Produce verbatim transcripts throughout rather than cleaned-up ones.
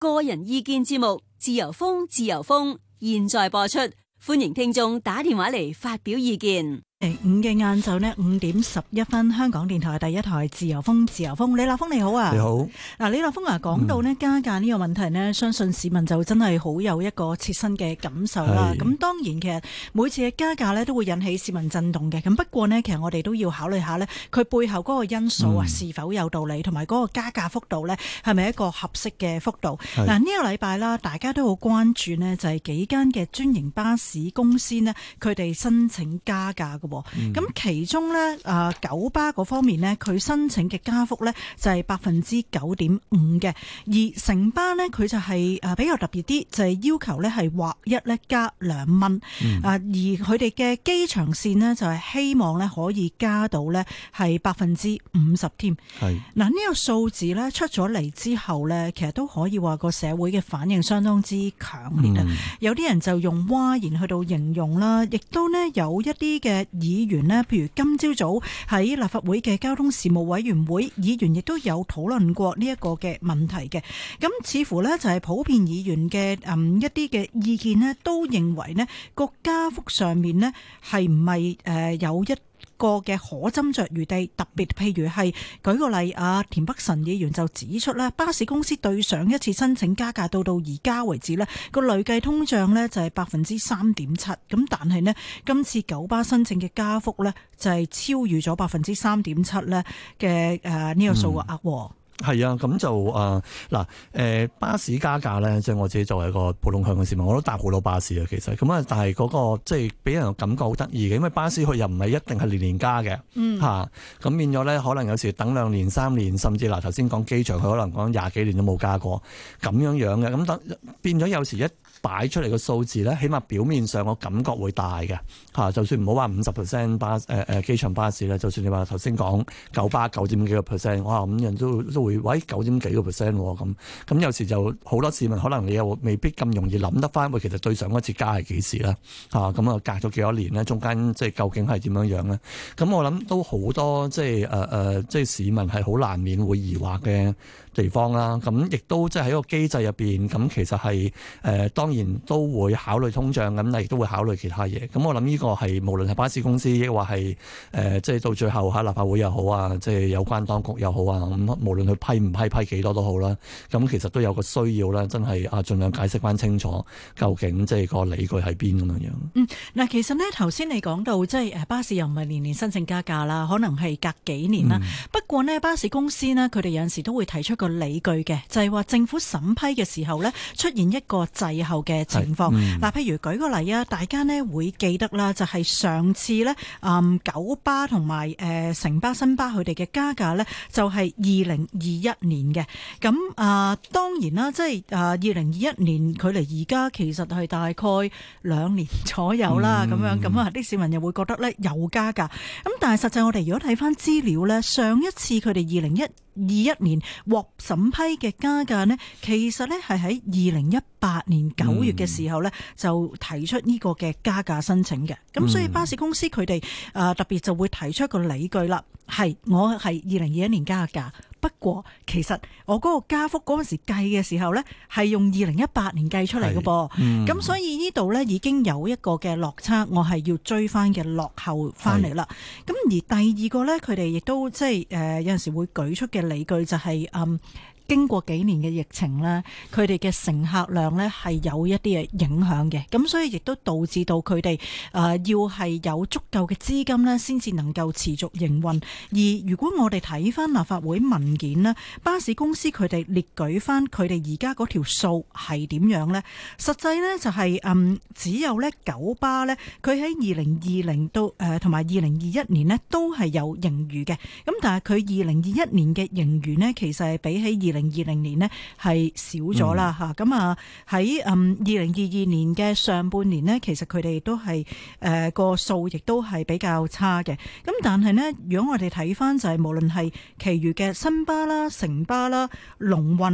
個人意見節目，自由風，自由風，現在播出，歡迎聽眾打電話嚟發表意見。 誒，五嘅晏晝呢，五點十一分，香港電台第一台自由風，自由風，李立峰你好啊。 你好。 嗱，李立峰啊，講到呢加價呢個問題呢、嗯，相信市民就真係好有一個切身嘅感受啦。咁當然，其實每次嘅加價呢都會引起市民震動嘅。咁不過呢，其實我哋都要考慮下呢，佢背後嗰個因素啊、嗯，是否有道理，同埋嗰個加價幅度呢，係咪一個合適嘅幅度？嗱，呢個禮拜啦，大家都好關注呢，就係幾間嘅專營巴士公司呢，佢哋申請加價嘅。咁、嗯、其中咧，誒九巴嗰方面咧，佢申請嘅加幅咧就係百分之九點五嘅，而城巴咧佢就係誒比較特別啲，就係、是、要求咧係劃一咧加兩蚊，啊、嗯、而佢哋嘅機場線呢，就係希望咧可以加到咧係百分之五十添。係嗱呢個數字咧出咗嚟之後咧，其實都可以話個社會嘅反應相當之強烈啊、嗯！有啲人就用嘩然去到形容啦，亦都呢有一啲嘅議員呢，譬如今朝早喺立法會嘅交通事務委員會，議員亦都有討論過呢一個嘅問題嘅。咁似乎呢，就係普遍議員嘅嗯一啲嘅意見呢，都認為呢個加幅上面呢係唔係誒有一個嘅可斟酌餘地，特別譬如係舉個例啊，田北辰議員就指出啦，巴士公司對上一次申請加價到到而家為止呢個累計通脹呢就係百分之三點七，咁但係呢，今次九巴申請嘅加幅呢就係超越咗百分之三點七呢嘅誒呢個數額喎。嗯係啊，咁就誒嗱誒巴士加價咧，即係我自己作為一個普通香港市民，我都搭好多巴士啊，其實咁啊，但係嗰個即係俾人感覺好得意嘅，因為巴士佢又唔係一定係年年加嘅，嗯嚇，咁變咗咧，可能有時等兩年、三年，甚至嗱頭先講機場，佢可能講廿幾年都冇加過咁樣樣嘅，咁等變咗有時一擺出嚟嘅數字咧，起碼表面上我感覺會大嘅嚇，就算唔好話五十 percent 巴誒誒機場巴士咧，就算你話頭先講九巴九點幾個 percent， 哇咁人都都會喂九點幾個 percent 咁，咁有時就好多市民可能你又未必咁容易諗得翻，喂其實對上一次加係幾時啦嚇，咁啊隔咗幾多年咧，中間即係究竟係點樣樣咧？咁我諗都好多即係誒誒，即係市民係好難免會疑惑嘅地方啦。咁亦都即係喺個機制入邊，咁其實係誒、呃、當然都會考慮通脹咁，但亦都會考慮其他嘢。咁我諗呢個係無論係巴士公司，亦或係誒即係到最後喺立法會又好啊，即係有關當局又好啊，咁無論佢批唔批批幾多都好啦。咁其實都有個需要啦，真係啊，盡量解釋翻清楚，究竟即係個理據喺邊咁樣樣。 嗯，嗱，其實呢頭先你講到即係誒巴士又唔係年年申請加價啦，可能係隔幾年啦、嗯。不過呢，巴士公司呢，佢哋有陣時都會提出個理據嘅，就係、是、話政府審批嘅時候呢，出現一個滯後嘅情況。嗱、嗯，譬如舉個例啊，大家呢會記得啦，就係上次呢，嗯，九巴同埋誒城巴、新巴佢哋嘅加價呢，就係二零二一年嘅。咁啊、呃，當然啦，即係啊，二零二一年距離而家其實係大概兩年左右啦。咁、嗯、樣咁啊，啲市民又會覺得呢有加價。咁但係實際我哋如果睇翻資料呢，上一次佢哋二零一二一年獲審批嘅加價呢，其實呢係喺二零一八年九月嘅時候呢，就提出呢個嘅加價申請嘅。咁、嗯、所以巴士公司佢哋誒特別就會提出一個理據啦，係我係二零二一年加價，不過其實我嗰個加幅嗰陣時計嘅時候呢，係用二零一八年計出嚟嘅噃。咁、嗯、所以呢度呢已經有一個嘅落差，我係要追翻嘅落後翻嚟啦。咁而第二個呢，佢哋亦都即係誒有陣時會舉出嘅理據就係、是、嗯。經過幾年嘅疫情呢，佢哋嘅乘客量呢係有一啲嘅影響嘅，咁所以亦都導致到佢哋誒要係有足夠嘅資金呢先至能夠持續營運。而如果我哋睇翻立法會文件呢，巴士公司佢哋列舉翻佢哋而家嗰條數係點樣呢？實際呢就係、是、嗯只有呢九巴呢，佢喺二零二零到誒同埋二零二一年呢都係有盈餘嘅，咁但係佢二零二一年嘅盈餘呢，其實係比起二零二零年呢係少咗啦吓，咁啊喺嗯二零二二年嘅上半年呢，其實佢哋都係誒個數亦都係比較差嘅。咁但係呢，如果我哋睇翻就係無論係其餘嘅新巴啦、城巴啦、龍運啦，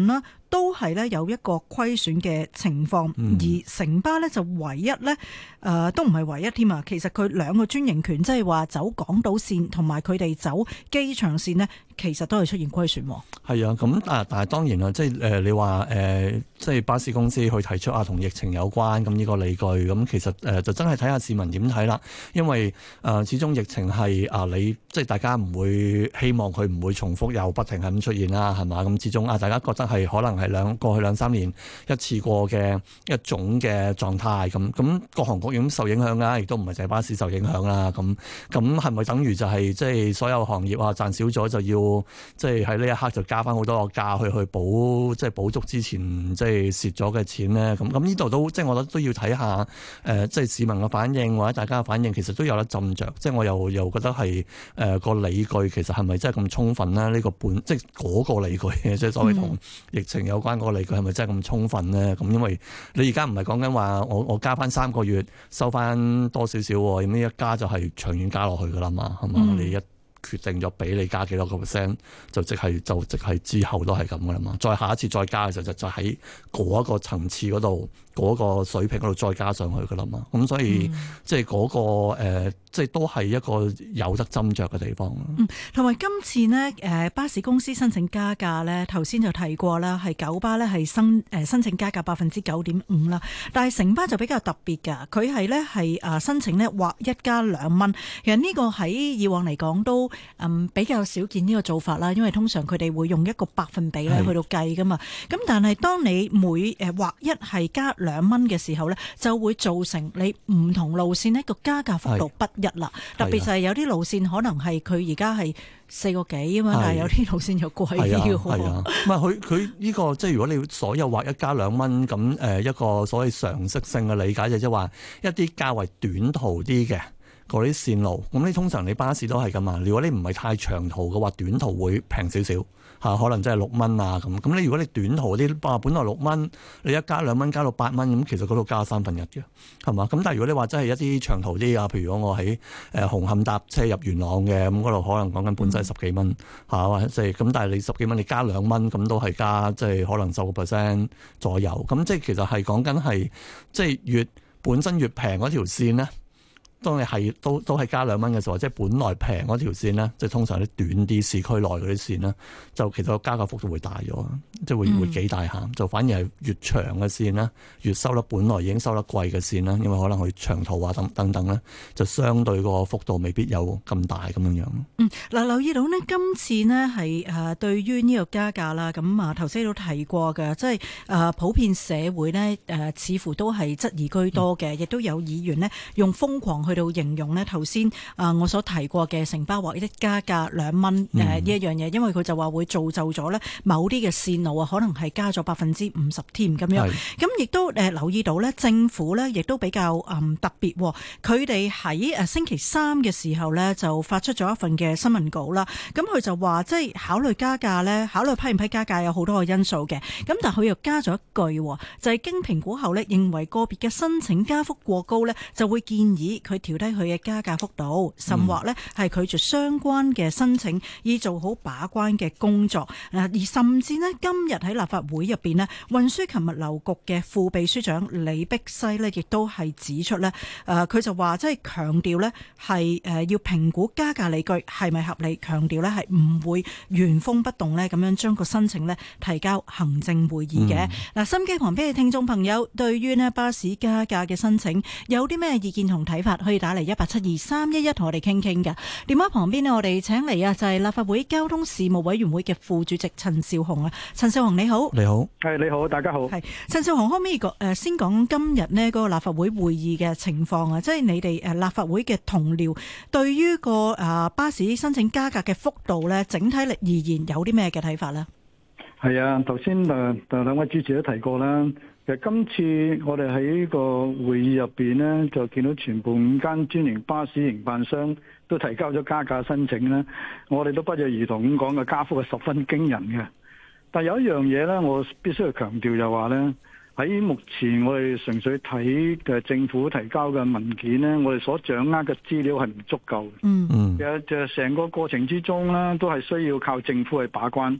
都係咧有一個虧損嘅情況，嗯、而城巴咧就唯一咧誒、呃、都唔係唯一添啊！其實佢兩個專營權，即係話走港島線同埋佢哋走機場線呢，其實都係出現虧損。 係啊，咁但但係當然啦，即係誒、呃、你話誒、呃、即係巴士公司去提出啊同疫情有關咁呢個理據，咁其實誒、呃、就真係睇下市民點睇啦。因為誒、呃、始終疫情係啊、呃、你即係大家唔會希望佢唔會重複又不停係咁出現啦，係嘛？咁始終啊大家覺得係可能係兩過去兩三年一次過嘅一種嘅狀態，咁咁各行各業受影響啦，亦都唔係淨係巴士受影響啦。咁咁係咪等於就係、是、即係所有行業啊賺少咗就要即係喺呢一刻就加翻好多個價去去補即係補足之前即係蝕咗嘅錢咧？咁咁呢度都即係我覺得都要睇下誒、呃，即係市民嘅反應或者大家嘅反應，其實都有得斟酌。即係我又又覺得係誒個理據其實係咪真係咁充分咧？呢、這個本即係嗰個理據嘅，即係所謂同疫情有關嗰個理據係咪真係咁充分咧？咁因為你而家唔係講緊話我我加翻三個月收翻多少少，咁呢一加就係長遠加落去噶啦嘛，係嘛？嗯、你一決定咗俾你加幾多個 percent，就即係就即係之後都係咁噶啦嘛。再下一次再加嘅時候就就喺嗰一個層次嗰度嗰個水平嗰度再加上去噶啦嘛。咁所以、嗯、即係嗰、嗰個誒、呃，即係都係一個有得斟酌嘅地方。 嗯，同埋今次呢，誒巴士公司申請加價咧，頭先就提過啦，係九巴咧係申誒申請加價百分之九點五啦，但係城巴就比較特別㗎，佢係咧係誒申請咧劃一加兩蚊。其實呢個喺以往嚟講都嗯比較少見呢個做法啦，因為通常佢哋會用一個百分比咧去到計㗎嘛。咁但係當你每誒劃一係加兩蚊嘅時候咧，就會造成你唔同路線呢個加價幅度不一啦。特別就係有啲路線可能係佢而家係四個幾啊嘛，但係有啲路線又貴啲嘅。係啊， 唔係佢佢呢個即係如果你所有劃一加兩蚊咁誒一個所謂常識性嘅理解就即係話一啲較為短途啲嘅嗰啲線路，咁你通常你巴士都係咁嘛。如果你唔係太長途嘅話，短途會平少少嚇，可能真係六蚊啊咁。咁你如果你短途啲啊，本來六蚊，你一加兩蚊加到八蚊，咁其實嗰度加三分一嘅，係嘛？咁但係如果你話真係一啲長途啲啊，譬如我喺誒紅磡搭車入元朗嘅，咁嗰度可能講緊本身十幾蚊嚇，或者即係咁，但係你十幾蚊你加兩蚊，咁都係加即係可能十個 percent 左右。咁即係其實係講緊係即係越本身越平嗰條線咧。當你係都都係加兩蚊嘅時候，即係本來平嗰條線咧，即係通常啲短啲市區內嗰啲線咧，就其實個加價幅度會大咗，即係會會幾大下。就反而係越長嘅線咧，越收得本來已經收得貴嘅線啦，因為可能佢長途啊等等等咧，就相對個幅度未必有咁大咁樣樣。 嗯，嗱，留意到呢，今次呢係誒對於呢個加價啦，咁啊頭先都提過嘅，即係誒普遍社會呢誒似乎都係質疑居多嘅，亦、嗯、都有議員呢用瘋狂去到形容呢頭先啊我所提過嘅城巴劃一加價兩蚊誒呢一樣嘢，因為佢就話會造就咗呢某啲嘅線路啊，可能係加咗百分之五十添咁樣。咁亦都誒留意到呢政府呢亦都比較誒特別，佢哋喺誒星期三嘅時候呢就發出咗一份嘅新聞稿啦。咁佢就話即係考慮加價呢，考慮批唔批加價有好多個因素嘅。咁但係佢又加咗一句，就係經評估後呢，認為個別嘅申請加幅過高呢，就會建議佢調低佢嘅加價幅度，甚或呢係拒絕相關嘅申請，以做好把關嘅工作。而甚至呢，今日喺立法會入邊呢，運輸及物流局嘅副秘書長李碧西呢，亦都係指出呢，誒佢就話即係強調呢係誒要評估加價理據係咪合理，強調呢係唔會原封不動呢咁樣將個申請呢提交行政會議嘅。嗱、嗯，心機旁邊嘅聽眾朋友，對於呢巴士加價嘅申請有啲咩意見同睇法，可以打嚟一八七二三一一同我哋傾傾㗎。電話旁邊呢，我哋請嚟啊，就係立法會交通事務委員會嘅副主席陳紹雄啊。陳紹雄你好。 你好。 係你好，大家好。 係陳紹雄，可唔可以誒先講今日呢嗰個立法會會議嘅情況啊？即係你哋誒立法會嘅同僚對於個誒巴士申請加價嘅幅度咧，整體嚟而言有啲咩嘅睇法咧？ 係啊，頭先誒誒兩位主持都提過啦。其實今次我哋喺呢個會議入邊咧，就見到全部五間專營巴士營辦商都提交咗加價申請咧。我哋都不約而同咁講嘅加幅係十分驚人嘅。但有一樣嘢咧，我必須要強調就話咧，喺目前我哋純粹睇嘅政府提交嘅文件咧，我哋所掌握嘅資料係唔足夠嘅。嗯嗯，其實就成個過程之中咧，都係需要靠政府去把關。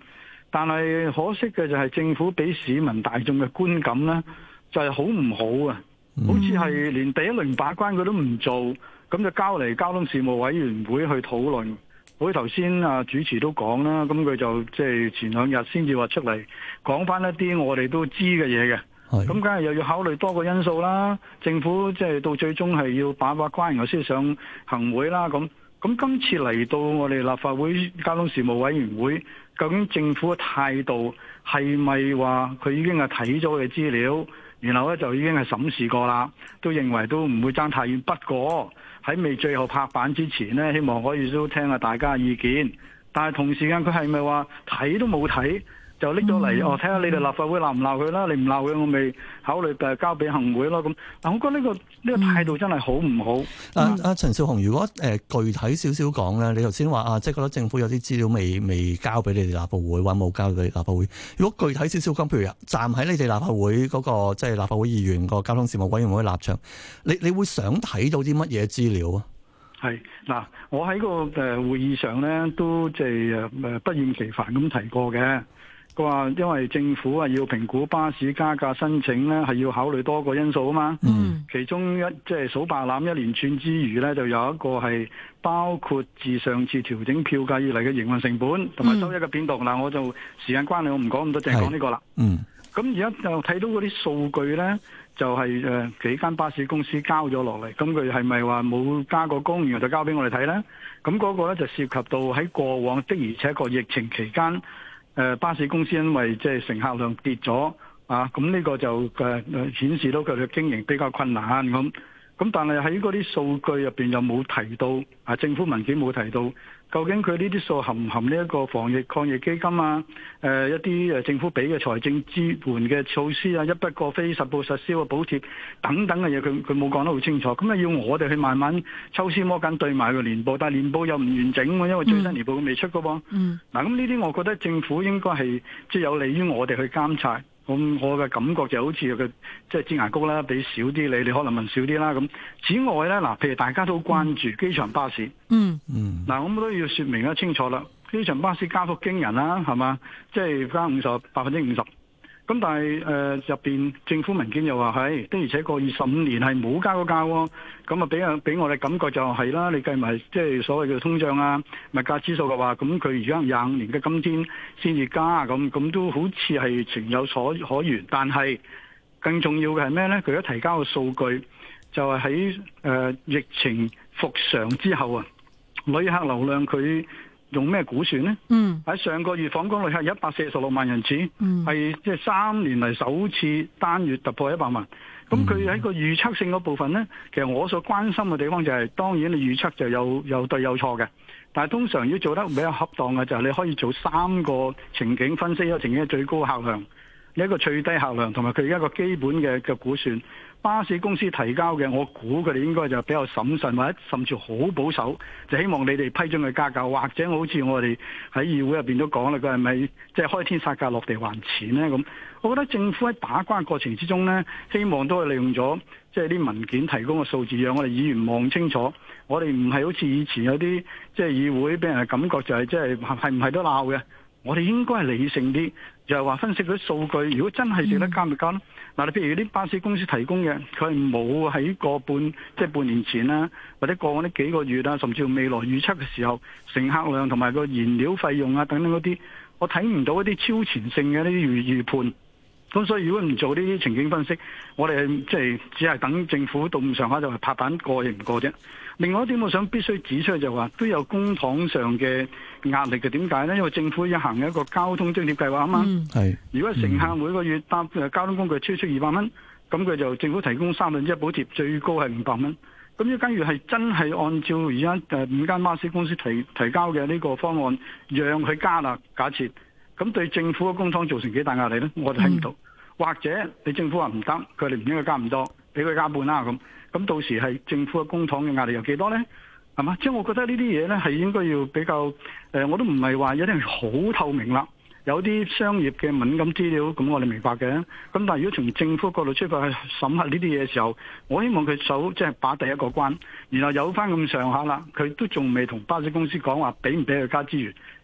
但係可惜嘅就係政府俾市民大眾嘅觀感呢，就係好唔好啊？好似係連第一輪把關佢都唔做，咁就交嚟交通事務委員會去討論。好似頭先啊主持都講啦，咁佢就即係前兩日先至話出嚟講翻一啲我哋都知嘅嘢嘅。咁梗係又要考慮多個因素啦。政府即係到最終係要把把關，然後先上行會啦。咁咁今次嚟到我哋立法會交通事務委員會，究竟政府嘅態度係咪話佢已經係睇咗嘅資料，然後咧就已經係審視過啦，都認為都唔會爭太遠。不過喺未最後拍板之前呢，希望可以都聽下大家嘅意見。但係同時間佢係咪話睇都冇睇？就拎咗嚟，我睇下你哋立法會鬧唔鬧佢啦，你唔鬧佢，我咪考慮誒交俾行會咯。咁，但我覺得呢個呢個態度真係好唔好？ 阿阿陳紹雄，如果誒、呃、具體少少講咧，你頭先話啊，即係覺得政府有啲資料未未交俾你哋立法會，或者冇交俾立法會。如果具體少少講，譬如站喺你哋立法會嗰、那個即係、就是、立法會議員個交通事務委員會立場，你你會想睇到啲乜嘢資料啊？係嗱，我喺個誒會議上咧，都即係誒不厭其煩咁提過嘅。佢話因為政府啊要評估巴士加價申請咧，係要考慮多個因素啊嘛。嗯，其中一即係數白欖一連串之餘咧，就有一個係包括自上次調整票價以嚟嘅營運成本同埋收益嘅變動。嗱、嗯，我就時間關係，我唔講咁多，淨係講呢個啦。嗯，咁而家就睇到嗰啲數據咧，就係、是、誒幾間巴士公司交咗落嚟，咁佢係咪話冇加過工，然後就交俾我哋睇咧？咁嗰個咧就涉及到喺過往的而且確疫情期間。誒巴士公司因為即係乘客量跌咗啊，咁呢個就誒誒顯示到佢哋嘅經營比較困難咁。咁但係喺嗰啲數據入邊又冇提到啊，政府文件冇提到，究竟佢呢啲數含唔含呢一個防疫抗疫基金啊？誒一啲誒政府俾嘅財政支援嘅措施啊，一筆過非實報實銷嘅補貼等等嘅嘢，佢佢冇講得好清楚。咁啊要我哋去慢慢抽絲剝繭對埋個年報，但係年報又唔完整喎，因為最新年報未出㗎噃。嗯。嗱咁呢啲我覺得政府應該係即係有利於我哋去監察。咁我嘅感覺就好似個即係擠牙膏啦，俾少啲你，你可能問少啲啦。咁此外咧，嗱，譬如大家都關注機場巴士，嗯嗯，嗱，我都要說明得清楚啦。機場巴士加幅驚人啦，係嘛？即係加五十百分之五十。咁但係誒入邊政府文件又話係的，而且個二十五年係冇加過價喎。咁啊俾啊俾我哋感覺就係啦，你計埋即係所謂嘅通脹啊、物價指數嘅話，咁佢而家廿五年嘅今天先至加，咁咁都好似係情有所可原。但係更重要嘅係咩咧？佢而家提交嘅數據就係喺誒疫情復常之後啊，旅客流量佢用咩估算呢？嗯，喺上個月訪港旅客一百四十六萬人次，係即係三年嚟首次單月突破一百萬。咁佢喺個預測性嗰部分呢，其實我所關心嘅地方就係、是，當然你預測就有有對有錯嘅，但係通常要做得比較恰當嘅就係你可以做三個情景分析，一個情景嘅最高客量，你一個最低客量，同埋佢一個基本嘅嘅估算。巴士公司提交嘅，我估佢哋應該就比較審慎，或者甚至好保守，就希望你哋批准佢加價，或者好似我哋喺議會入邊都講啦，佢係咪即係開天殺價落地還錢呢？咁，我覺得政府喺把關過程之中呢，希望都係利用咗即係啲文件提供嘅數字，讓我哋議員望清楚。我哋唔係好似以前有啲即係議會俾人嘅感覺就係即係係唔係都鬧嘅。我哋應該係理性啲，就係話分析嗰啲數據。如果真係值得加咪加咯。嗱，你譬如啲巴士公司提供嘅，佢係冇喺個半即係半年前啦，或者過往呢幾個月啊，甚至乎未來預測嘅時候，乘客量同埋個燃料費用啊等等嗰啲，我睇唔到一啲超前性嘅呢啲預預判。咁所以如果唔做呢啲情景分析，我哋即係只係等政府到咁上下就係拍板過亦唔過啫。另外一點我想必須指出就話都有公帑上嘅壓力嘅。點解呢？因為政府已行一個交通津貼計劃啊嘛。係、嗯。如果乘客每個月搭交通工具超出二百蚊，咁佢就政府提供三分之一補貼，最高係五百蚊。咁如果假如係真係按照而家誒五間巴士公司提提交嘅呢個方案，讓佢加啦，假設。咁對政府嘅公帑造成幾大壓力呢？我哋睇唔到、嗯。或者你政府話唔得，佢哋唔應該加咁多，俾佢加半啦咁。咁到時係政府嘅公帑嘅壓力有幾多呢？係嘛？即係我覺得呢啲嘢呢係應該要比較誒、呃，我都唔係話一定好透明啦。有啲商業嘅敏感資料，咁我哋明白嘅。咁但係如果從政府角度出發去審核呢啲嘢嘅時候，我希望佢首即係把第一個關，然後有翻咁上下啦，佢都仲未同巴士公司講話俾唔俾佢加資源。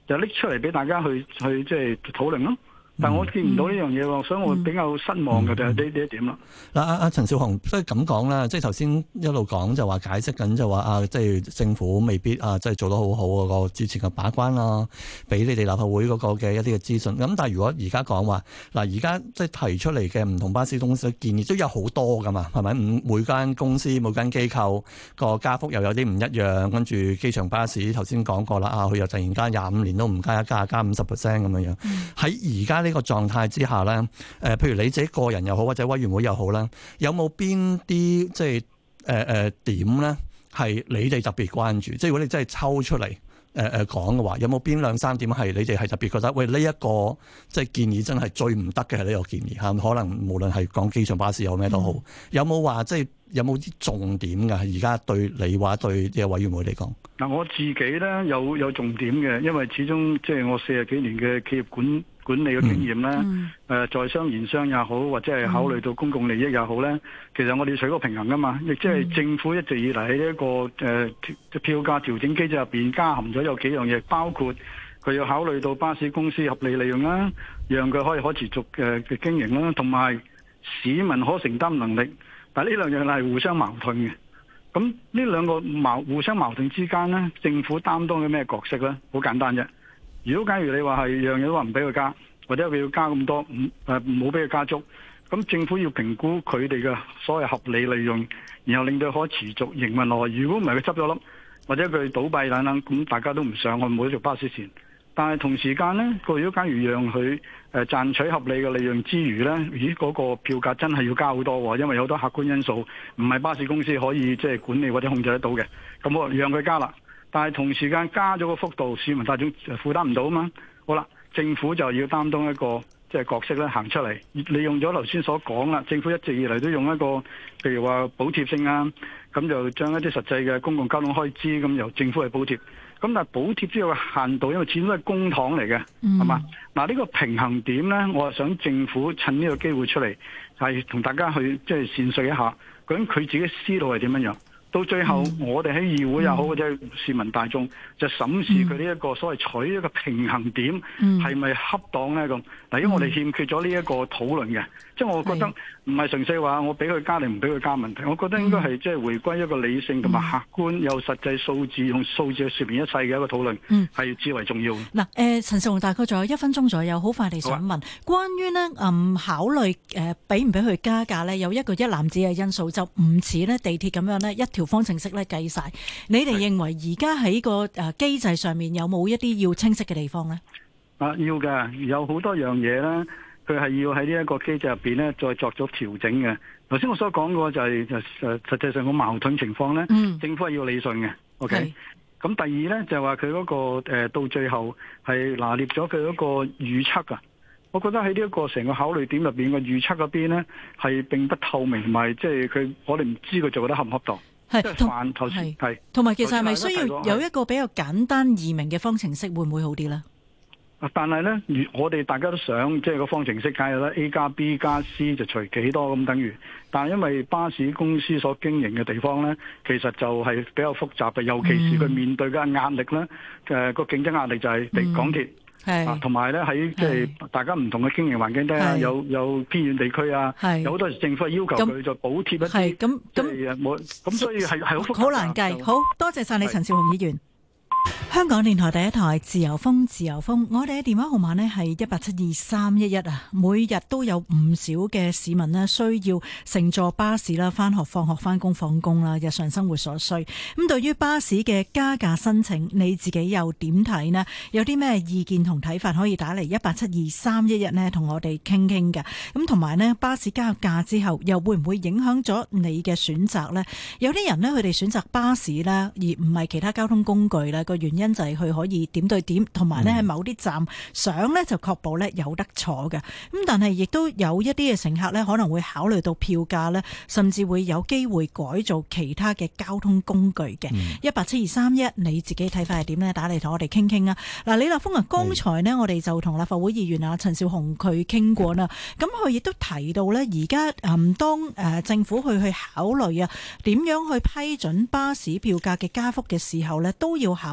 就拎出嚟俾大家去去即係討論咯。但我見唔到呢樣嘢喎，所以我比較失望嘅就係呢呢一點啦。 嗱，阿阿陳紹雄，所以咁講啦，即係頭先一路講就話解釋緊就話啊，即係政府未必啊，即係做得好好嗰個之前嘅把關啊，俾你哋立法會嗰個嘅一啲嘅資訊。咁但係如果而家講話嗱，而家即係提出嚟嘅唔同巴士公司嘅建議都有好多噶嘛，係咪？每間公司每間機構個加幅又有啲唔一樣，跟住機場巴士頭先講過啦，啊，佢又突然間廿五年都唔加一加，加五十 percent 咁樣樣。喺而家呢個狀態之下咧，誒、呃，譬如你自己個人又好，或者委員會又好啦，有冇邊啲即係誒誒點咧，係你哋特別關注？即係如果你真係抽出嚟誒誒講嘅話，有冇邊兩三點係你哋係特別覺得喂呢一、這個即係建議真係最唔得嘅係呢個建議嚇？可能無論係講機場巴士有咩都好，嗯、有冇話即係有冇啲重點㗎？而家對你話對嘅委員會嚟講， 嗱，我自己咧有有重點嘅，因為始終即係我四十幾年嘅企業管管理嘅經驗咧，誒、嗯呃、在商言商也好，或者係考慮到公共利益也好咧，嗯、其實我哋要取個平衡噶嘛，亦即係政府一直以嚟喺呢一個誒、呃、票價調整機制入邊加含咗有幾樣嘢，包括佢要考慮到巴士公司合理利潤啦，讓佢可以可持續嘅嘅經營啦，同埋市民可承擔能力。但係呢兩樣係互相矛盾嘅。咁呢兩個矛互相矛盾之間咧，政府擔當嘅咩角色咧？好簡單啫。如果假如你話係樣樣都話唔俾佢加，或者佢要加咁多，唔誒唔好俾佢加足，咁政府要評估佢哋嘅所謂合理利潤，然後令到可持續營運落去。如果唔係佢執咗笠，或者佢倒閉等等，咁大家都唔想我唔好做巴士線。但係同時間呢，佢如果假如讓佢誒賺取合理嘅利潤之餘呢，咦嗰、那個票價真係要加好多喎，因為有好多客觀因素唔係巴士公司可以即係管理或者控制得到嘅。咁我讓佢加啦，但係同時間加咗個幅度，市民大眾負擔唔到啊嘛。好啦，政府就要擔當一個即係角色咧，行出嚟，利用咗頭先所講啦。政府一直以嚟都用一個譬如話補貼性啊，咁就將一啲實際嘅公共交通開支咁由政府去補貼。咁但係補貼都有個限度，因為始終都係公帑嚟嘅，係嘛、嗯？嗱呢個平衡點咧，我係想政府趁呢個機會出嚟，係同大家去即係闡述一下，究竟佢自己思路係點樣樣。到最後，嗯、我哋喺議會又好，或者市民大眾就審視佢呢一個所謂取一個平衡點係咪、嗯、恰當咧咁。嗱，因為我哋欠缺咗呢一個討論嘅，即係、嗯、我覺得唔係純粹話我俾佢加定唔俾佢加問題，我覺得應該係即係回歸一個理性同埋客觀有實際數字用數字去説明一切嘅一個討論，係、嗯、至為重要。嗱， 誒陳紹雄大概仲有一分鐘左右，好快地想問，啊、關於呢嗯考慮誒俾唔俾佢加價呢，有一個一籃子嘅因素，就唔似呢地鐵咁樣呢一條方程式咧計晒。你哋認為而家喺個誒機制上面有冇一啲要清晰嘅地方呢？ 啊，要嘅，有好多樣嘢咧，佢係要喺呢一個機制入邊咧再作咗調整嘅。頭先我所講過就係就誒實際上個矛盾情況咧，嗯、政府係要理順嘅。OK，咁是第二咧就係話佢嗰個誒、呃、到最後係拿捏咗佢嗰個預測啊。我覺得喺呢一個成個考慮點入邊嘅預測嗰邊咧係並不透明，同埋即係佢我哋唔知佢做得恰唔恰當。係同頭先係同埋其實係咪需要有一個比較簡單易明嘅方程式會唔會好啲咧？ 但係咧，我哋大家都想即係個方程式梗係啦 A 加 B 加 C 就除幾多咁等於。但係因為巴士公司所經營嘅地方咧，其實就係比較複雜嘅，尤其是佢面對嘅壓力咧，誒、嗯、個競爭壓力就係地港鐵。係、嗯，同埋咧喺即係大家唔同嘅經營環境底下，有有偏遠地區啊，有好多時政府要求佢就補貼一啲， 咁咁冇，咁所以係係好複雜， 好難計。好多謝晒你，陳紹雄議員。香港電台第一台自由風，自由風，我哋嘅電話號碼呢係一八七二三一一啊。每日都有唔少嘅市民呢需要乘坐巴士啦，翻學、放學、翻工、放工啦，日常生活所需。咁對於巴士嘅加價申請，你自己又點睇呢？有啲咩意見同睇法可以打嚟一八七二三一一呢，同我哋傾傾嘅。咁同埋呢，巴士加價之後，又會唔會影響咗你嘅選擇呢？有啲人呢，佢哋選擇巴士啦，而唔係其他交通工具啦。個原因就係佢可以點對點，同埋咧喺某啲站上咧就確保咧有得坐嘅。咁但係亦都有一啲嘅乘客咧可能會考慮到票價咧，甚至會有機會改造其他嘅交通工具嘅。一八七二三一，你自己睇法係點咧？打嚟同我哋傾傾啊！嗱，李立峰啊，剛才呢，我哋就同立法會議員啊陳紹雄佢傾過啦。咁佢亦都提到咧，而家誒當誒政府去去考慮啊點樣去批准巴士票價嘅加幅嘅時候咧，都要考慮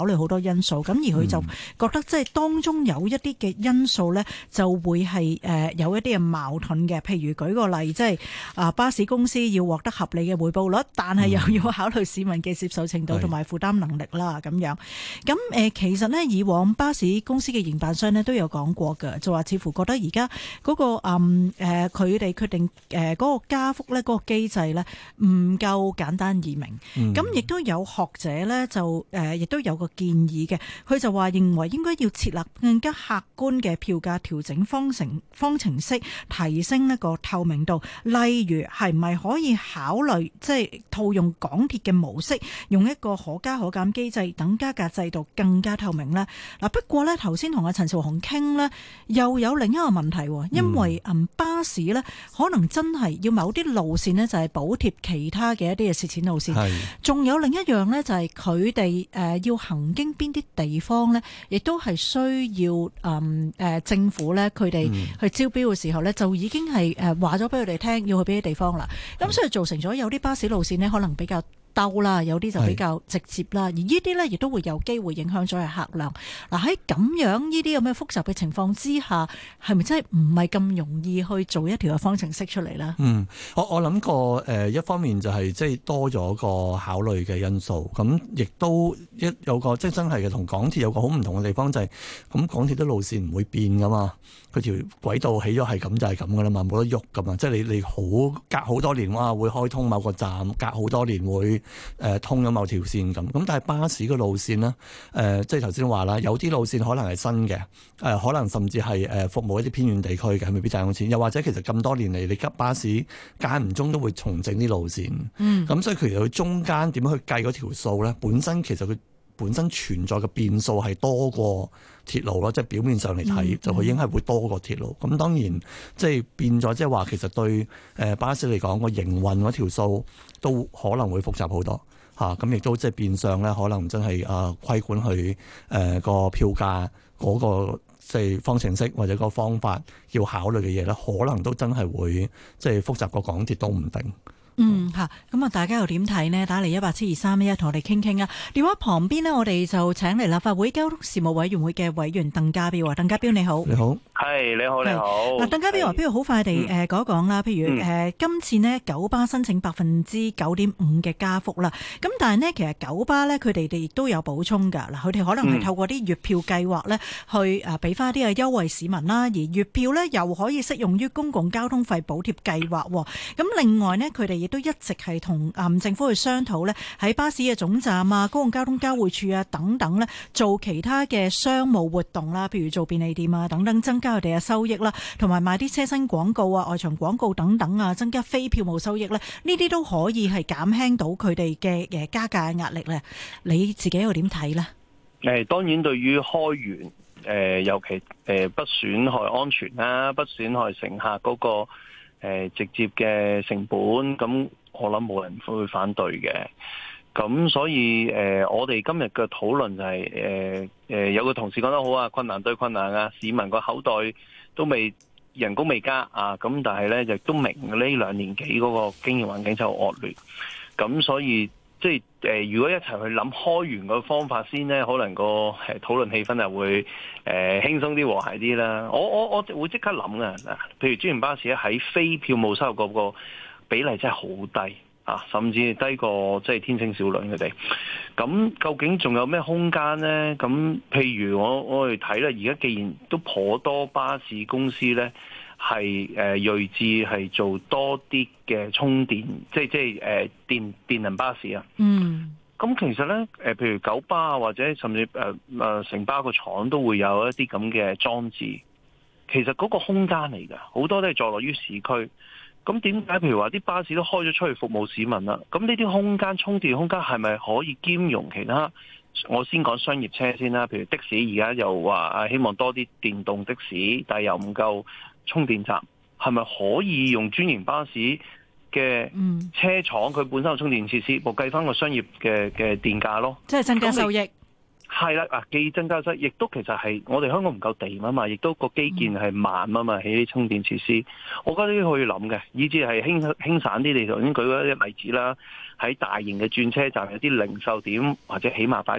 慮好多因素，咁而佢就覺得即係當中有一啲嘅因素呢，就會係誒有一啲嘅矛盾嘅。譬如舉個例，即係啊巴士公司要獲得合理嘅回報率，但係又要考慮市民嘅接受程度同埋負擔能力啦，咁樣。咁誒其實呢，以往巴士公司嘅營辦商呢都有講過㗎，就話似乎覺得而家嗰個嗯誒佢哋決定誒嗰個加幅呢，嗰個機制呢唔夠簡單易明。咁亦都有學者呢，就誒亦都有個建議嘅，佢就話認為應該要設立更加客觀嘅票價調整方程方程式，提升呢個透明度。例如係咪可以考慮即係套用港鐵嘅模式，用一個可加可減機制，等加價制度更加透明呢？嗱，不過呢，頭先同阿陳紹雄傾呢，又有另一個問題，因為嗯巴士呢，可能真係要某啲路線呢，就係補貼其他嘅一啲嘅蝕錢路線，仲有另一樣呢，就係佢哋誒要行經邊啲地方呢，亦都係需要誒誒政府呢，佢哋去招標嘅時候呢，就已經係誒話咗俾佢哋聽要去邊啲地方啦。咁所以造成咗有啲巴士路線呢，可能比較兜啦，有啲就比較直接啦，而呢啲呢，亦都會有機會影響咗嘅客量。嗱，喺咁樣呢啲咁嘅複雜嘅情況之下，係咪真係唔係咁容易去做一條嘅方程式出嚟呢？ 嗯，我我諗過誒，一方面就係即係多咗個考慮嘅因素，咁亦都一有個即係真係嘅同港鐵有個好唔同嘅地方就係、是，咁港鐵啲路線唔會變噶嘛，佢條軌道起咗係咁就係咁噶啦嘛，冇得喐噶嘛，即係你你好隔好多年哇會開通某個站，隔好多年會。誒、呃、通咗某條線咁，咁但係巴士嘅路線呢，誒、呃、即係頭先話啦，有啲路線可能係新嘅，誒、呃、可能甚至係誒服務一啲偏遠地區嘅，未必賺到錢。又或者其實咁多年嚟，你急巴士間唔中都會重整啲路線，嗯，咁所以其實佢中間點樣去計嗰條數咧？本身其實佢本身存在嘅變數係多過鐵路咯，即係表面上嚟睇、嗯、就佢應該係會多過鐵路。咁當然即係變咗，即係話其實對誒巴士嚟講個營運嗰條數都可能會複雜好多。嚇，咁亦都即係變相咧，可能真係啊規管佢誒個票價嗰個即係方程式或者個方法要考慮嘅嘢咧，可能都真係會即係複雜過港鐵都唔定。 嗯吓，咁啊，大家又點睇呢？打嚟一八七二三一一，同我哋傾傾啊。電話旁邊呢，我哋就請嚟立法會交通事務委員會嘅委員鄧家彪啊，鄧家彪你好。 你好， 係你好，你好。 嗱，鄧家彪話，不如好快地誒講一講啦。譬如誒、嗯，今次呢九巴申請百分之九點五嘅加幅啦。咁但係呢，其實九巴呢，佢哋哋亦都有補充㗎。嗱，佢哋可能係透過啲月票計劃呢，去誒俾翻啲嘅優惠市民啦。而月票呢，又可以適用於公共交通費補貼計劃。咁另外呢，佢哋亦都一直係同誒政府去商討咧，喺巴士嘅總站啊、公共交通交匯處啊等等咧，做其他嘅商務活動啦，譬如做便利店啊等等，增加佢哋嘅收益啦，同埋賣啲車身廣告啊、外牆廣告等等啊，增加非票務收益咧，呢啲都可以係減輕到佢哋嘅誒加價嘅壓力咧。你自己又點睇咧？ 誒，當然對於開源誒，尤其誒不損害安全啦，不損害乘客嗰個。誒、呃、直接嘅成本，咁我諗冇人會反對嘅。咁所以誒、呃，我哋今日嘅討論就係誒誒，有個同事講得好啊，困難對困難啊，市民個口袋都未人工未加啊，咁但係咧亦都明呢兩年幾嗰個經營環境就惡劣，咁所以即係誒、呃，如果一齊去諗開源個方法先咧，可能個誒討論氣氛就會誒、呃、輕鬆啲、和諧啲啦。我我我會即刻諗啊，嗱，譬如專營巴士咧喺非票務收入嗰個比例真係好低啊，甚至低過即係天星小輪佢哋。咁究竟仲有咩空間咧？咁譬如我我哋睇咧，而家既然都頗多巴士公司咧。係誒銳志係做多啲嘅充電，即係即係誒電電能巴士啊。嗯，咁其實咧誒，譬如九巴啊，或者甚至誒誒城巴個廠都會有一啲咁嘅裝置。其實嗰個空間嚟㗎，好多都係坐落於市區。咁點解譬如話啲巴士都開咗出去服務市民啦？咁呢啲空間充電空間係咪可以兼容其他？我先講商業車先啦，譬如的士而家又話啊，希望多啲電動的士，但係又唔夠充電站，係咪可以用專營巴士嘅車廠佢本身有充電設施，部計翻個商業嘅嘅電價咯？即係增加收益。係啦，啊，既增加收益，亦都其實係我哋香港唔夠地啊嘛，亦都個基建係慢啊嘛，起啲充電設施，我覺得呢啲可以諗嘅，以至係輕輕省啲。你頭先舉嗰啲例子啦，喺大型嘅轉車站有啲零售點，或者起碼擺個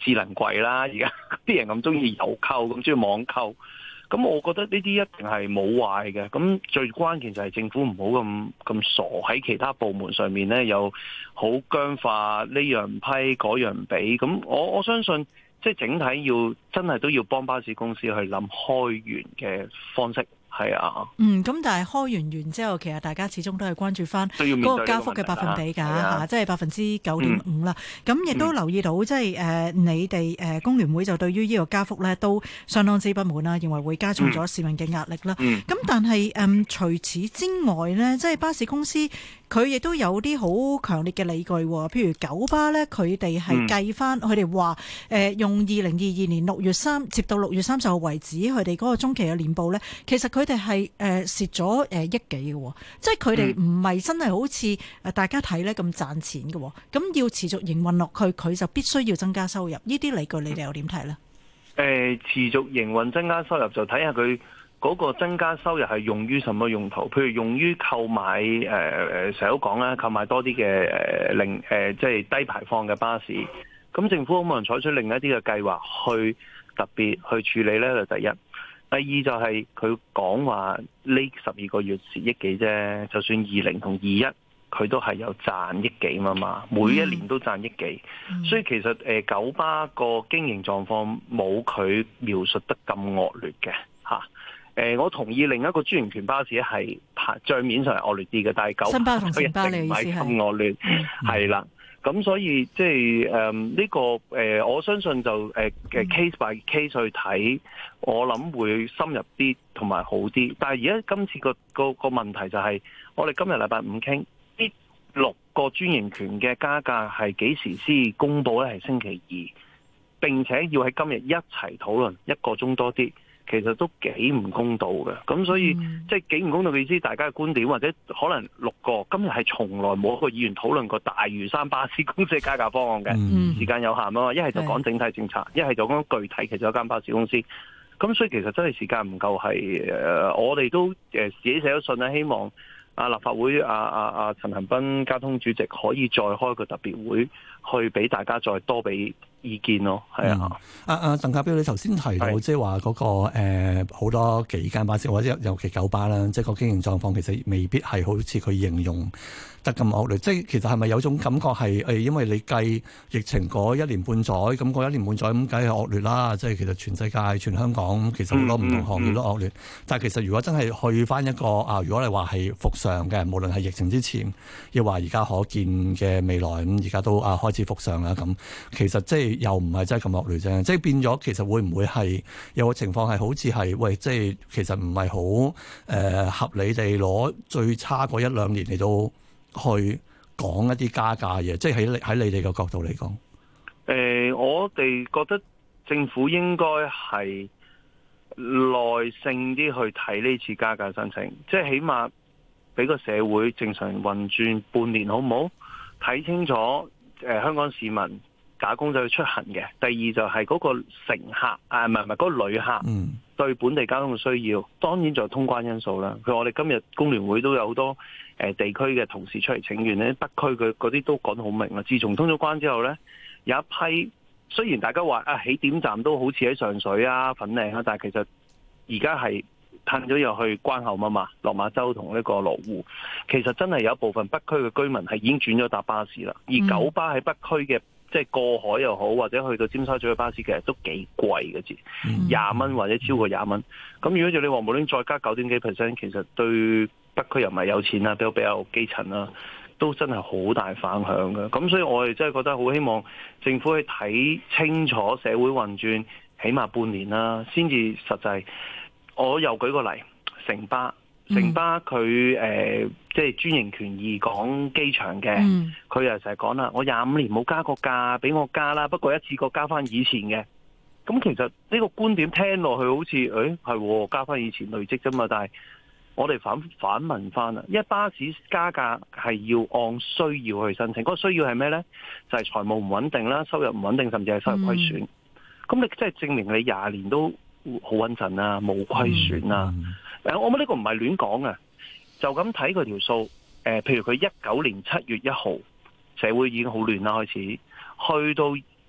智能櫃啦，而家啲人咁中意郵購，咁中意網購。咁我覺得呢啲一定係冇壞嘅，咁最關鍵就係政府唔好咁咁傻喺其他部門上面咧，又好僵化，呢樣唔批嗰樣唔俾，咁我我相信即係整體要真係都要幫巴士公司去諗開源嘅方式。係啊， 嗯，咁但係開完完之後，其實大家始終都係關注翻嗰個加幅嘅百分比㗎嚇，即係百分之九點五啦。咁亦都留意到，即係誒你哋誒工聯會就對於呢個加幅咧都相當之不滿啦，認為會加重咗市民嘅壓力啦。咁、嗯、但係誒、嗯、除此之外呢，即係巴士公司佢亦都有啲好強烈嘅理據，譬如九巴咧，佢哋係計翻，佢哋話誒用二零二二年六月三接到六月三十號為止，佢哋嗰個中期嘅年報咧，其實佢哋係誒蝕咗誒億幾嘅，即係佢哋唔係真係好似誒大家睇咧咁賺錢嘅，咁要持續營運落去，佢就必須要增加收入。呢啲理據你哋又點睇咧？ 誒，持續營運增加收入就睇下佢嗰個增加收入係用於什麼用途？譬如用於購買誒誒，成日都講啦，購買多啲嘅誒零誒，即係低排放嘅巴士。咁政府可唔可能採取另一啲嘅計劃去特別去處理呢？就第一，第二就係佢講話呢十二個月蝕億幾啫，就算二零同二一，佢都係有賺億幾嘛嘛，每一年都賺億幾，嗯、所以其實誒九巴個經營狀況冇佢描述得咁惡劣嘅嚇。誒，我同意另一個專營權巴士係帳面上係惡劣啲嘅，但係九巴佢一定唔係咁惡劣，係啦。咁所以即係誒呢個誒、呃，我相信就誒嘅、呃、case by case 去睇，我諗會深入啲同埋好啲。但係而家今次個個個問題就係、是，我哋今日禮拜五傾呢六個專營權嘅加價係幾時先公佈咧？係星期二，並且要喺今日一齊討論一個鐘多啲。其實都幾唔公道嘅，咁所以、嗯、即係幾唔公道嘅意思，大家嘅觀點或者可能六個今日係從來冇一個議員討論過大嶼山巴士公司嘅加價方案嘅，嗯、時間有限啊嘛，一係就講整體政策，一係就講具體其中一間巴士公司，咁所以其實真係時間唔夠，係誒、呃、我哋都誒自己寫咗信咧，希望啊立法會啊啊啊陳恒鑌交通主席可以再開個特別會，去俾大家再多俾意見咯，係啊！ 阿阿鄧家彪，你頭先提到即係話嗰個誒好多幾間巴士，或者尤其九巴啦，即係個經營狀況其實未必係好似佢形容得咁惡劣。即係其實係咪有種感覺係誒，因為你計疫情嗰一年半載，咁嗰一年半載咁，梗係惡劣啦。即係其實全世界、全香港其實好多唔同行業都惡劣。嗯嗯嗯、但係其實如果真係去翻一個啊，如果你話係復常嘅，無論係疫情之前，亦話而家可見嘅未來，咁而家都啊開始復常啦。咁其實即係又唔係真係咁惡劣啫。即係變咗，其實會唔會係有個情況係好似係喂，即係其實唔係好誒合理地攞最差嗰一兩年嚟到去講一啲加價嘢，即係喺喺你哋嘅角度嚟講，誒、 呃，我哋覺得政府應該係耐性啲去睇呢次加價申請，即係起碼俾個社會正常運轉半年，好唔好？睇清楚誒、呃，香港市民打工仔去出行嘅。第二就係嗰個乘客啊，唔係唔係嗰個旅客對本地交通嘅需要，當然就係通關因素啦。譬如我哋今日工聯會都有好多誒地區嘅同事出嚟請願咧，北區嘅嗰啲都講得好明啦。自從通咗關之後咧，有一批雖然大家話啊起點站都好似喺上水啊、粉嶺啊，但係其實而家係褪咗入去關口啊嘛，落馬洲同呢個羅湖，其實真係有一部分北區嘅居民係已經轉咗搭巴士啦。而九巴喺北區嘅即係過海又好，或者去到尖沙咀嘅巴士，其實都幾貴嘅，至廿蚊或者超過廿蚊。咁如果就你話無論再加九點幾 percent， 其實對北區又唔係有錢啦，比較比較基層啦，都真係好大反響嘅。咁所以我哋真係覺得好希望政府去睇清楚社會運轉，起碼半年啦，先至實際。我又舉個例，城巴，城巴佢誒、呃、即係專營權二港機場嘅，佢又成日講啦，我廿五年冇加過價，俾我加啦，不過一次過加翻以前嘅。咁其實呢個觀點聽落去好似誒係加翻以前累積啫嘛，但係我哋反反問翻啦，因為巴士加價係要按需要去申請，嗰、嗰個需要係咩呢？就係、係、財務唔穩定啦，收入唔穩定，甚至係收入虧損。咁、嗯、你即係證明你廿年都好穩陣啦，冇虧損啦。誒、嗯，我覺得呢個唔係亂講嘅，就咁睇佢條數。誒，譬如佢一九年七月一號，社會已經好亂啦，開始去到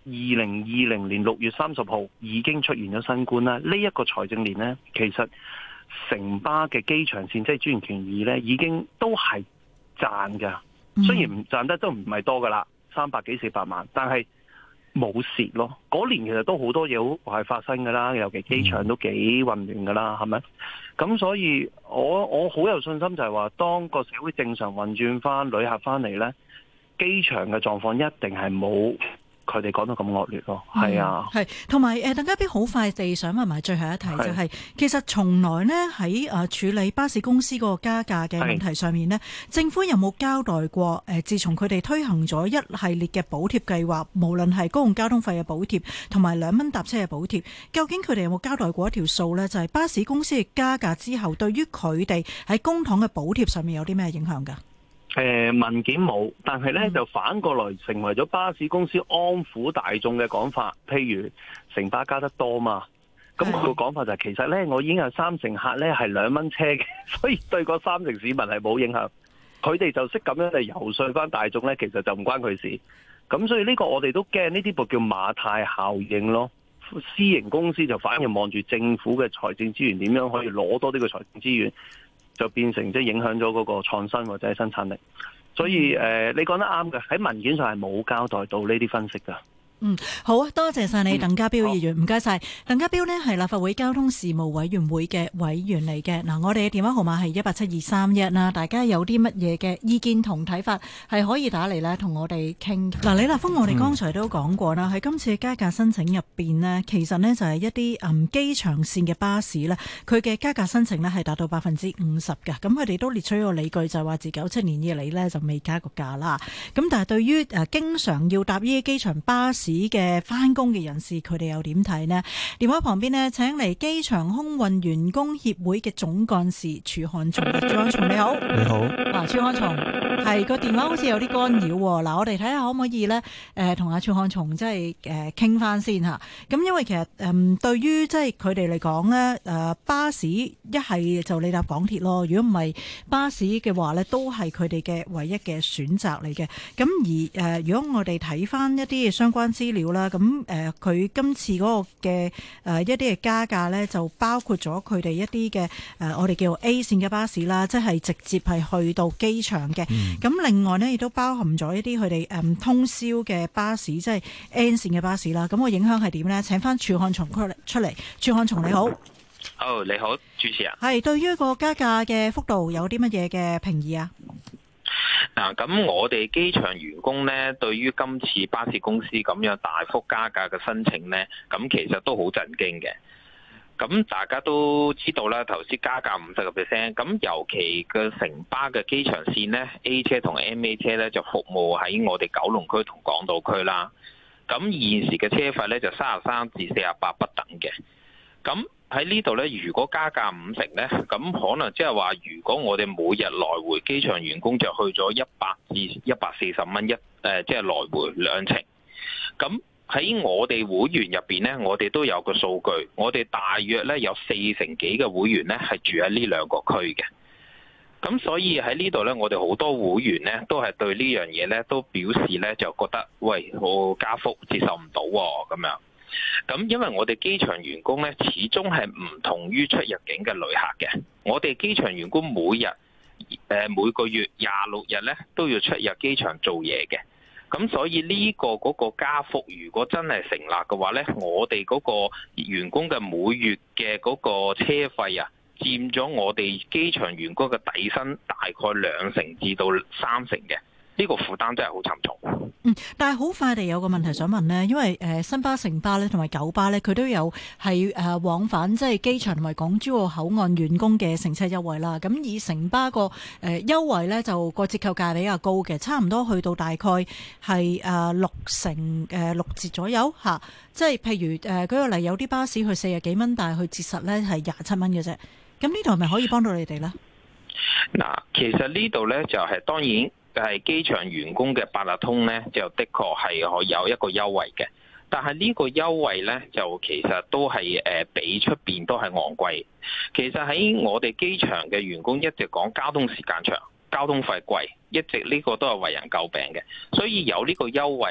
零二零年六月三十號已經出現咗新冠啦。呢、這、一個財政年呢，其實城巴嘅機場線即係專營權二呢，已經都係賺㗎。雖然唔賺得都唔係多噶啦，三百幾四百萬，但係冇蝕咯。嗰年其實都好多嘢好係發生噶啦，尤其機場都幾混亂噶啦，係咪？咁所以我我好有信心就係話，當個社會正常運轉翻，旅客翻嚟呢，機場嘅狀況一定係冇佢哋講到咁惡劣咯。係、嗯、啊， 係同埋誒，鄧家彪好快地想問埋最後一題，就係、是、其實從來呢喺誒處理巴士公司嗰個加價嘅問題上面呢，政府有冇交代過誒？自從佢哋推行咗一系列嘅補貼計劃，無論係公共交通費嘅補貼同埋兩蚊搭車嘅補貼，究竟佢哋有冇交代過一條數呢？就係、是、巴士公司嘅加價之後，對於佢哋喺公帑嘅補貼上面有啲咩影響㗎？ 誒、呃、文件冇，但係咧就反過來成為咗巴士公司安撫大眾嘅講法。譬如城巴加得多嘛，咁佢個講法就係、是、其實咧我已經有三成客咧係兩蚊車嘅，所以對嗰三成市民係冇影響。佢哋就識咁樣嚟遊說翻大眾咧，其實就唔關佢事。咁所以呢個我哋都驚呢啲部叫馬太效應咯。私營公司就反而望住政府嘅財政資源點樣可以攞多啲嘅財政資源，就變成即係影響咗嗰個創新或者係生產力，所以誒、呃，你講得啱嘅，喺文件上係冇交代到呢啲分析㗎。 嗯，好啊，多謝晒你，鄧家彪議員，唔該晒。鄧家彪呢係立法會交通事務委員會嘅委員嚟嘅。嗱，我哋嘅電話號碼係一八七二三一啦，大家有啲乜嘢嘅意見同睇法，係可以打嚟咧同我哋傾。嗱，李立峰，我哋剛才都講過啦，喺、嗯、今次嘅加價申請入邊呢，其實呢就係一啲嗯機場線嘅巴士呢，佢嘅加價申請呢係達到百分之五十㗎。咁佢哋都列出一個理據，就係話自九七年以嚟呢就未加過價啦。咁但係對於誒經常要搭呢啲機場巴士嘅返工嘅人士，佢哋又點睇呢？電話旁邊呢，請嚟機場空運員工協會嘅總幹事儲漢松。儲漢松你好， 你好。 嗱，儲漢松係個電話好似有啲干擾喎。嗱，我哋睇下可唔可以呢？誒，同阿儲漢松即係誒傾翻先嚇。咁因為其實誒、呃、對於即係佢哋嚟講呢，誒巴士一係就你搭港鐵咯。如果唔係巴士嘅話呢，都係佢哋嘅唯一嘅選擇嚟嘅。咁而誒、呃，如果我哋睇翻一啲相關資料啦，咁誒佢今次嗰個嘅誒、呃、一啲嘅加價咧，就包括咗佢哋一啲嘅誒我哋叫做 A 線嘅巴士啦，即係直接係去到機場嘅。咁、嗯、另外呢，亦都包含咗一啲佢哋誒通宵嘅巴士，即係 N 線嘅巴士啦。咁、個影響係點咧？請翻儲漢松出嚟。儲漢松你好， 好、oh, 你好，主持人。 係對於個加價嘅幅度有啲乜嘢嘅評議啊？ 嗱，咁我哋機場員工咧，對於今次巴士公司咁樣大幅加價嘅申請咧，咁其實都好震驚嘅。咁大家都知道啦，頭先加價五十個 percent， 咁尤其嘅城巴嘅機場線咧 ，A 車同 M A 車咧就服務喺我哋九龍區同港島區啦。咁現時嘅車費咧就三十三至四十八不等嘅。咁喺呢度咧，如果加價五成咧，咁可能即係話，如果我哋每日來回機場員工就去咗一百至一百四十蚊一誒，即係來回兩程。咁喺我哋會員入邊咧，我哋都有個數據，我哋大約咧有四成幾嘅會員咧係住喺呢兩個區嘅。咁所以喺呢度咧，我哋好多會員咧都係對呢樣嘢咧都表示咧就覺得，喂，我加幅接受唔到喎咁樣。咁因為我哋機場員工咧，始終係唔同於出入境嘅旅客嘅。我哋機場員工每日誒每個月廿六日咧都要出入機場做嘢嘅。咁所以呢個嗰個加幅，如果真係成立嘅話咧，我哋嗰個員工嘅每月嘅嗰個車費啊，佔咗我哋機場員工嘅底薪大概兩成至到三成嘅。呢個負擔真係好沉重。 嗯，但係好快地有個問題想問呢，因為誒、呃、新巴、城巴咧同埋九巴咧，佢都有係誒、呃、往返即係機場同埋港珠澳口岸員工嘅乘車優惠啦。咁以城巴個誒優惠咧，就個折扣價比較高嘅，差唔多去到大概係誒、呃、六成誒、呃、六折左右嚇、啊。即係譬如誒舉、呃、個例，有啲巴士去四十幾蚊，但係佢折實咧係廿七蚊嘅啫。咁呢度係咪可以幫到你哋咧？ 嗱，其實呢度咧就係、是、當然。係機場員工嘅八達通咧，就的確係可有一個優惠嘅。但係呢個優惠咧，就其實都係誒比出邊都係昂貴。其實喺我哋機場嘅員工一直講交通時間長、交通費貴，一直呢個都係為人詬病嘅。所以有呢個優惠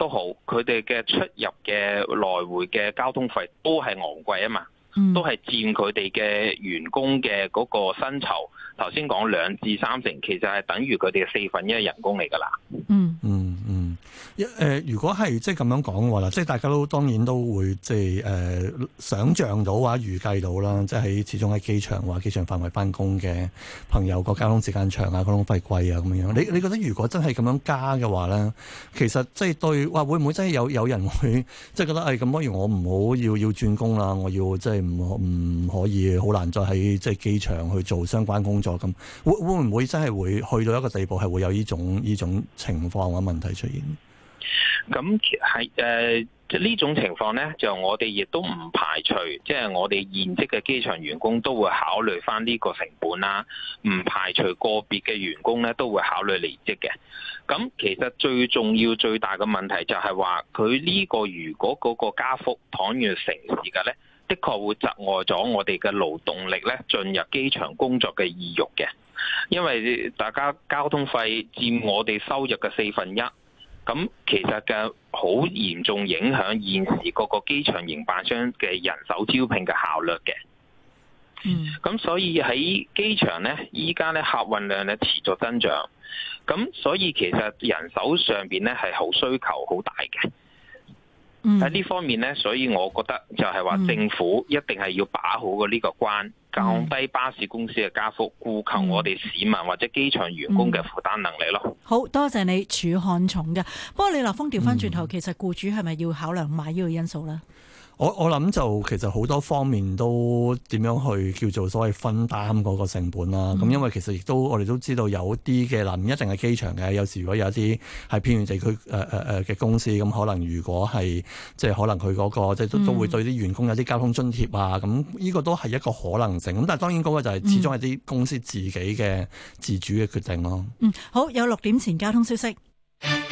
都好，佢哋嘅出入嘅來回嘅交通費都係昂貴啊嘛， 嗯、 都係佔佢哋嘅員工嘅嗰個薪酬。頭先講兩至三成，其實係等於佢哋嘅四分一人工嚟㗎啦。 嗯嗯嗯，一、呃、如果係即係咁樣講嘅話啦，即係大家都當然都會即係誒、呃、想像到或者預計到啦，即係喺始終喺機場或機場範圍翻工嘅朋友個交通時間長啊，交通費貴啊咁樣。你你覺得如果真係咁樣加嘅話咧，其實即係對話會唔會真係有有人會即係覺得誒咁，不、哎、如我唔好要要轉工啦，我要即係唔唔可以好難再喺即係機場去做相關工作咁，會會唔會真係會去到一個地步係會有呢種呢種情況或者問題出現？ 咁係誒，即係呢種情況咧，就我哋亦都唔排除，即係我哋現職嘅機場員工都會考慮翻呢個成本啦，唔排除個別嘅員工咧都會考慮離職嘅。咁其實最重要最大嘅問題就係話，佢呢個如果嗰個加幅倘若成事嘅咧，的確會窒礙咗我哋嘅勞動力咧進入機場工作嘅意欲嘅，因為大家交通費佔我哋收入嘅四分一。咁其實嘅好嚴重影響現時各個機場營辦商嘅人手招聘嘅效率嘅。 嗯， 咁所以喺機場咧，依家咧客運量咧持續增長，咁所以其實人手上邊咧係好需求好大嘅。喺呢、嗯、方面咧，所以我覺得就係話政府一定係要把好個呢個關，降低巴士公司嘅加幅，顧求我哋市民或者機場員工嘅負擔能力咯。 嗯、好多謝你，儲漢松嘅。不過李立峰調翻轉頭， 嗯、 其實僱主係咪要考量埋呢個因素咧？ 我我諗就其實好多方面都點樣去叫做所謂分擔嗰個成本啦。咁、嗯、因為其實亦都我哋都知道有啲嘅嗱，唔一定係機場嘅，有時如果有一啲係偏遠地區誒誒誒嘅公司，咁可能如果係即係可能佢嗰、嗰個即係都都會對啲員工有啲交通津貼啊。咁呢個都係一個可能性。咁但係當然嗰個就係始終係啲公司自己嘅自主嘅決定咯。 嗯，好，有六點前交通消息。